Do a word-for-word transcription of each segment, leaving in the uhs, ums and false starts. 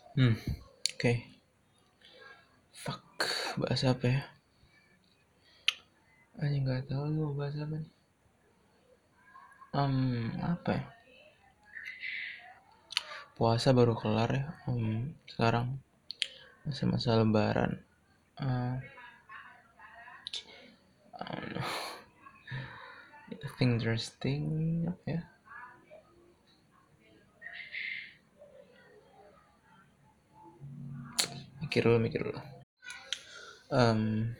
Hmm, oke. Fuck, bahasa apa ya? Anjing nggak tahu nih mau bahas apa nih. Um, apa ya? Puasa baru kelar ya. Um, sekarang masa-masa Lebaran. Uh, I don't know. I think interesting apa ya? Mikir dulu, mikir dulu. Um,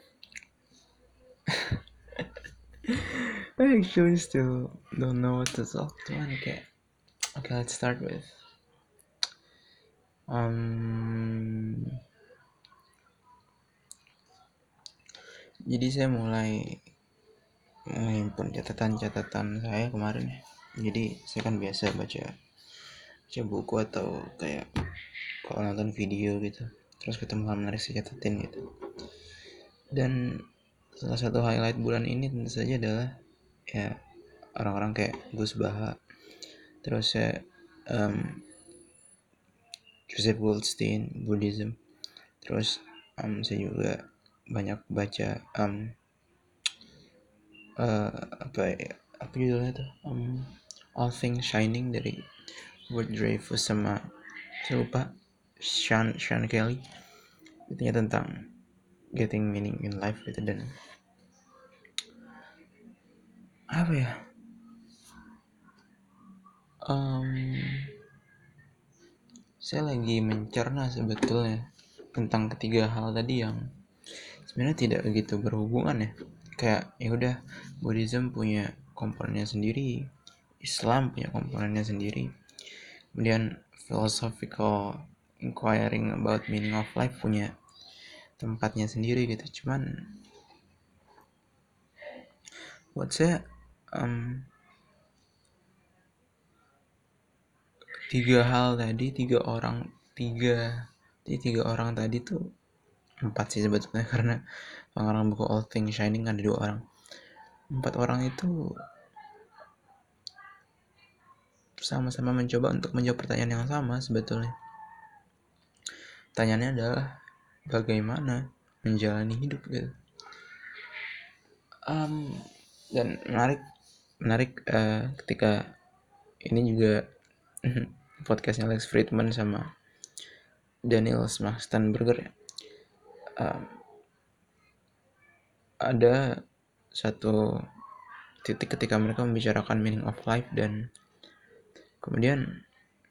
I actually still don't know what to talk to. Okay, okay, let's start with. Um, jadi saya mulai menghimpun catatan-catatan saya kemarin ya. Jadi saya kan biasa baca baca buku atau kayak kalau nonton video gitu. Terus ketemu hal menarik saya catatin gitu. Dan salah satu highlight bulan ini tentu saja adalah ya orang-orang kayak Gus Baha, terus saya um, Joseph Goldstein, Buddhism. Terus um, saya juga banyak baca um, uh, apa ya, apa judulnya tuh um, All Things Shining dari Ward Dreyfus sama saya lupa Sean Sean Kelly, intinya tentang getting meaning in life gitu. Dan apa ya, um, saya lagi mencerna sebetulnya tentang ketiga hal tadi yang sebenarnya tidak begitu berhubungan ya. Kayak ya udah, Buddhism punya komponennya sendiri, Islam punya komponennya sendiri, kemudian philosophical inquiring about meaning of life punya tempatnya sendiri gitu. Cuman buat saya um, tiga hal tadi, tiga orang, tiga tiga orang tadi tuh, empat sih sebetulnya karena pengarang buku All Things Shining ada dua orang. Empat orang itu sama-sama mencoba untuk menjawab pertanyaan yang sama sebetulnya. Pertanyaannya adalah bagaimana menjalani hidup gitu. Um, dan menarik menarik uh, ketika ini juga podcastnya Lex Friedman sama Daniel Schmachtenberger ya. Um, ada satu titik ketika mereka membicarakan meaning of life, dan kemudian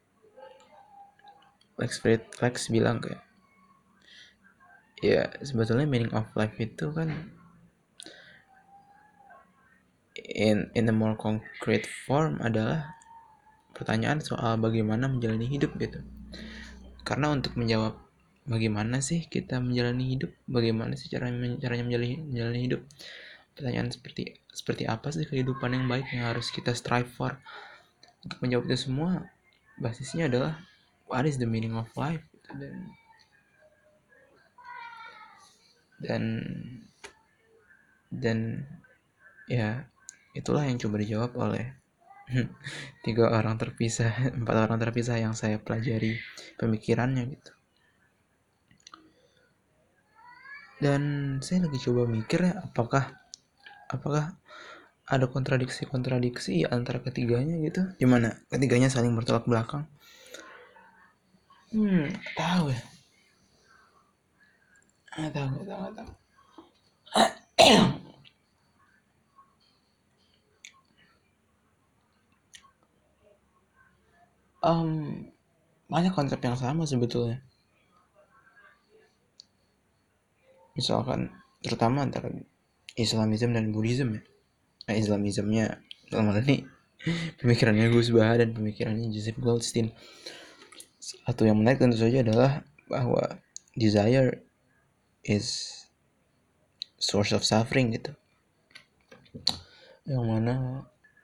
Lex Fried Lex bilang kayak ya sebetulnya meaning of life itu kan in in a more concrete form adalah pertanyaan soal bagaimana menjalani hidup gitu. Karena untuk menjawab bagaimana sih kita menjalani hidup, bagaimana sih caranya caranya menjalani, menjalani hidup, pertanyaan seperti seperti apa sih kehidupan yang baik yang harus kita strive for, untuk menjawab itu semua basisnya adalah what is the meaning of life gitu. dan dan dan ya itulah yang coba dijawab oleh tiga orang terpisah, empat orang terpisah yang saya pelajari pemikirannya gitu. Dan saya lagi coba mikir ya, apakah apakah ada kontradiksi-kontradiksi antara ketiganya gitu, gimana ketiganya saling bertolak belakang. Hmm tahu ya, nggak tahu nggak tahu nggak tahu um, banyak konsep yang sama sebetulnya, misalkan terutama antara Islamism dan Buddhism ya. Nah, Islamismnya dalam hal ini pemikirannya Gus Baha dan pemikirannya Joseph Goldstein. Satu yang menarik tentu saja adalah bahwa desire is source of suffering gitu, yang mana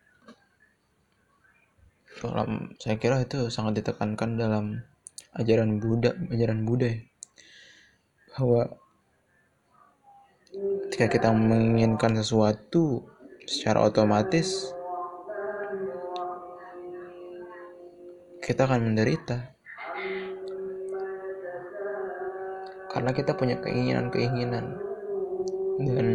dalam saya kira itu sangat ditekankan dalam ajaran Buddha ajaran Buddha ya, bahwa ketika kita menginginkan sesuatu secara otomatis kita akan menderita. karena kita punya keinginan-keinginan, dan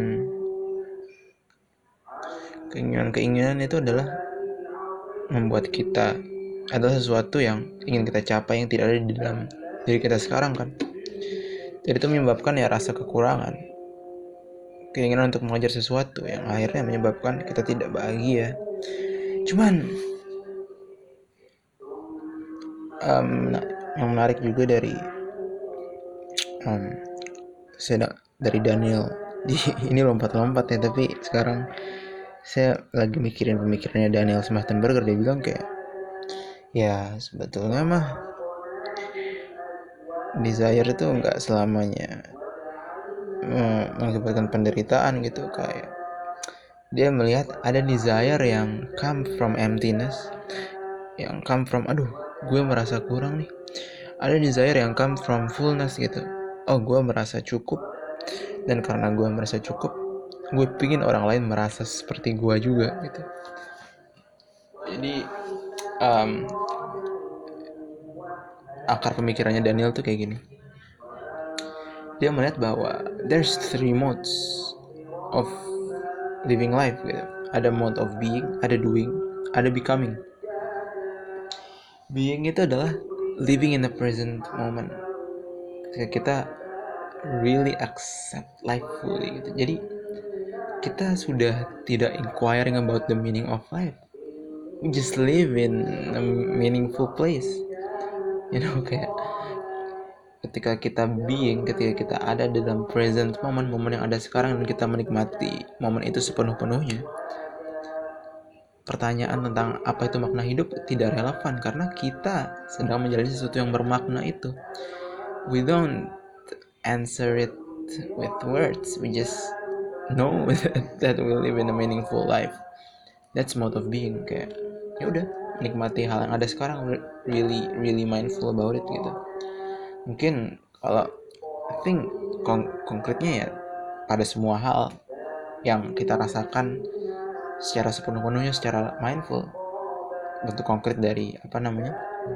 keinginan-keinginan itu adalah membuat kita adalah sesuatu yang ingin kita capai yang tidak ada di dalam diri kita sekarang kan. Jadi itu menyebabkan ya rasa kekurangan, keinginan untuk mengejar sesuatu yang akhirnya menyebabkan kita tidak bahagia. Cuman um, yang menarik juga dari um, saya dari Daniel di ini lompat-lompat ya, tapi sekarang saya lagi mikirin pemikirannya Daniel Smachtenberger. Dia bilang kayak ya sebetulnya mah desire itu nggak selamanya mengakibatkan penderitaan gitu. Kayak dia melihat ada desire yang come from emptiness, yang come from aduh gue merasa kurang nih. Ada desire yang come from fullness gitu, oh gue merasa cukup, dan karena gue merasa cukup gue pingin orang lain merasa seperti gue juga gitu. Jadi um, akar pemikirannya Daniel tuh kayak gini. Dia melihat bahwa there's three modes of living life gitu. Ada mode of being, ada doing, ada becoming. Being itu adalah living in the present moment, ketika kita really accept life fully gitu. Jadi kita sudah tidak inquiring about the meaning of life, we just live in a meaningful place, you know. Kayak ketika kita being, ketika kita ada dalam present moment, momen yang ada sekarang, dan kita menikmati momen itu sepenuh-penuhnya, pertanyaan tentang apa itu makna hidup tidak relevan, karena kita sedang menjalani sesuatu yang bermakna itu. We don't answer it with words, we just know that we live in a meaningful life. That's mode of being. Kayak ya udah, nikmati hal yang ada sekarang, really really mindful about it gitu. Mungkin kalau I think kon- konkretnya ya pada semua hal yang kita rasakan secara sepenuh-penuhnya, secara mindful, bentuk konkret dari apa namanya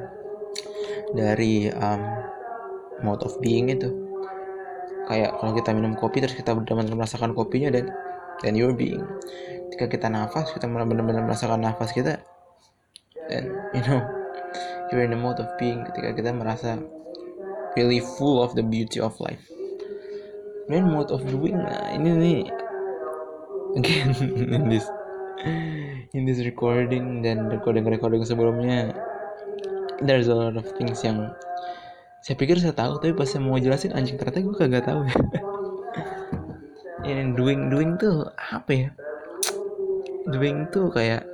dari um, mode of being itu. Kayak kalau kita minum kopi terus kita benar-benar merasakan kopinya, dan dan you're being. Ketika kita nafas, kita benar-benar merasakan nafas kita, dan you know you're in the mode of being. Ketika kita merasa really full of the beauty of life. Dan mode of doing, nah ini nih again in this in this recording dan recording-recording sebelumnya, there's a lot of things yang saya pikir saya tahu, tapi pas saya mau jelasin anjing ternyata gue kagak tahu ya. Ini doing doing tuh apa ya? Doing tuh kayak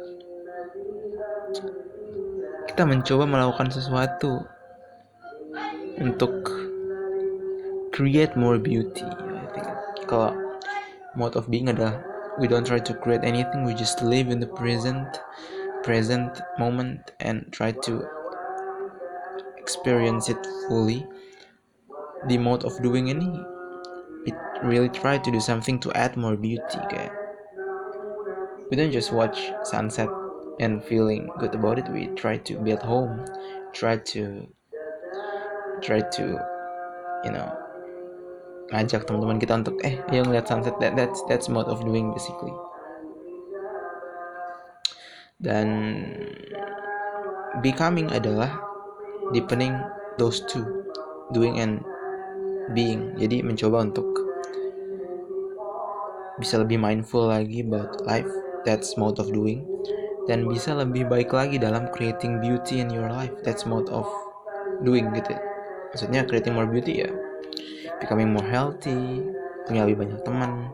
kita mencoba melakukan sesuatu untuk create more beauty. I think kalau mode of being adalah we don't try to create anything, we just live in the present present moment and try to experience it fully. Di mode of doing ini, we really try to do something to add more beauty. Kayak we don't just watch sunset and feeling good about it, we try to build home, try to try to you know ngajak teman-teman kita untuk eh ayo ngeliat sunset. That, that's that's mode of doing basically. Dan becoming adalah deepening those two, doing and being. Jadi mencoba untuk bisa lebih mindful lagi about life, that's mode of doing. Dan bisa lebih baik lagi dalam creating beauty in your life, that's mode of doing gitu. Maksudnya creating more beauty ya becoming more healthy, punya lebih banyak teman,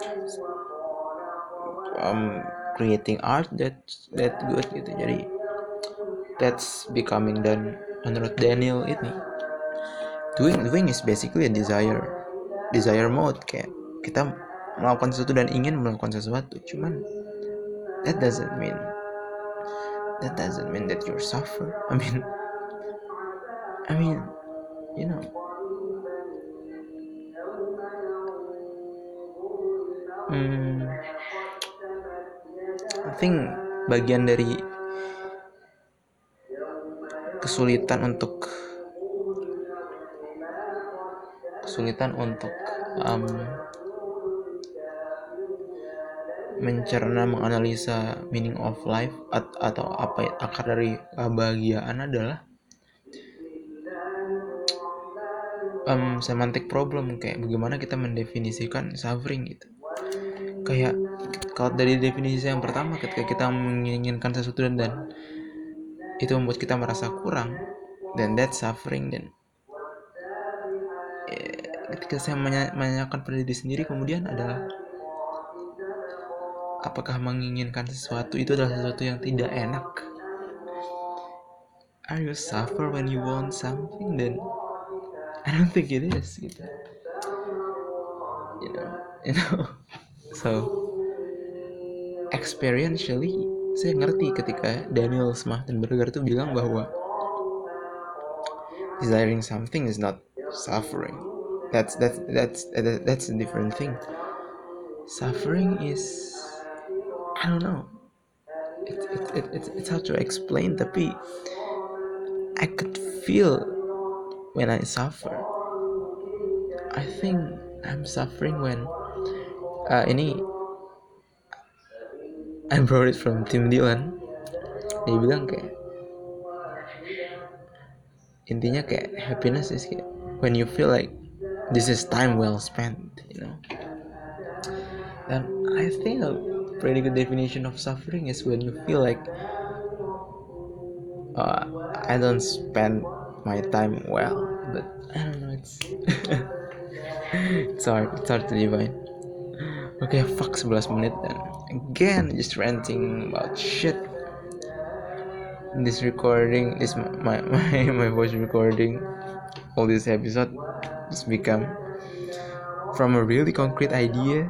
um, creating art that that good gitu. Jadi that's becoming. Dan menurut Daniel ini doing doing is basically a desire desire mode. Kayak kita melakukan sesuatu dan ingin melakukan sesuatu, cuman that doesn't mean that doesn't mean that you're suffer. I mean I mean you know hmm, I think bagian dari kesulitan untuk kesulitan untuk um, mencerna, menganalisa meaning of life at- atau apa akar dari kebahagiaan adalah um, semantic problem, kayak bagaimana kita mendefinisikan suffering gitu. Kayak kalau dari definisi yang pertama, ketika kita menginginkan sesuatu dan, dan itu membuat kita merasa kurang, dan that's suffering. Dan eh, ketika saya menanyakan pada diri sendiri kemudian adalah, apakah menginginkan sesuatu itu adalah sesuatu yang tidak enak? Are you suffer when you want something? Then I don't think it is gitu. You know, you know. So experientially saya ngerti ketika Daniel Smachtenberger tuh bilang bahwa desiring something is not suffering. That's that's that's that's a different thing. Suffering is, I don't know. It's it, it, it's it's hard to explain, tapi I could feel when I suffer. I think I'm suffering when uh, ini I brought it from Tim Dillon. Dia bilang kayak intinya kayak happiness is kayak when you feel like this is time well spent, you know. And I think a pretty good definition of suffering is when you feel like uh, I don't spend my time well, but I don't know, it's it's hard it's hard to define. Okay, fuck eleven menit dan again just ranting about shit. This recording is my my my voice recording. All this episode just become from a really concrete idea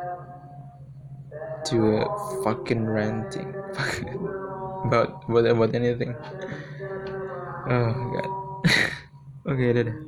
to a fucking ranting about about about anything. Oh god. Okay, dadah.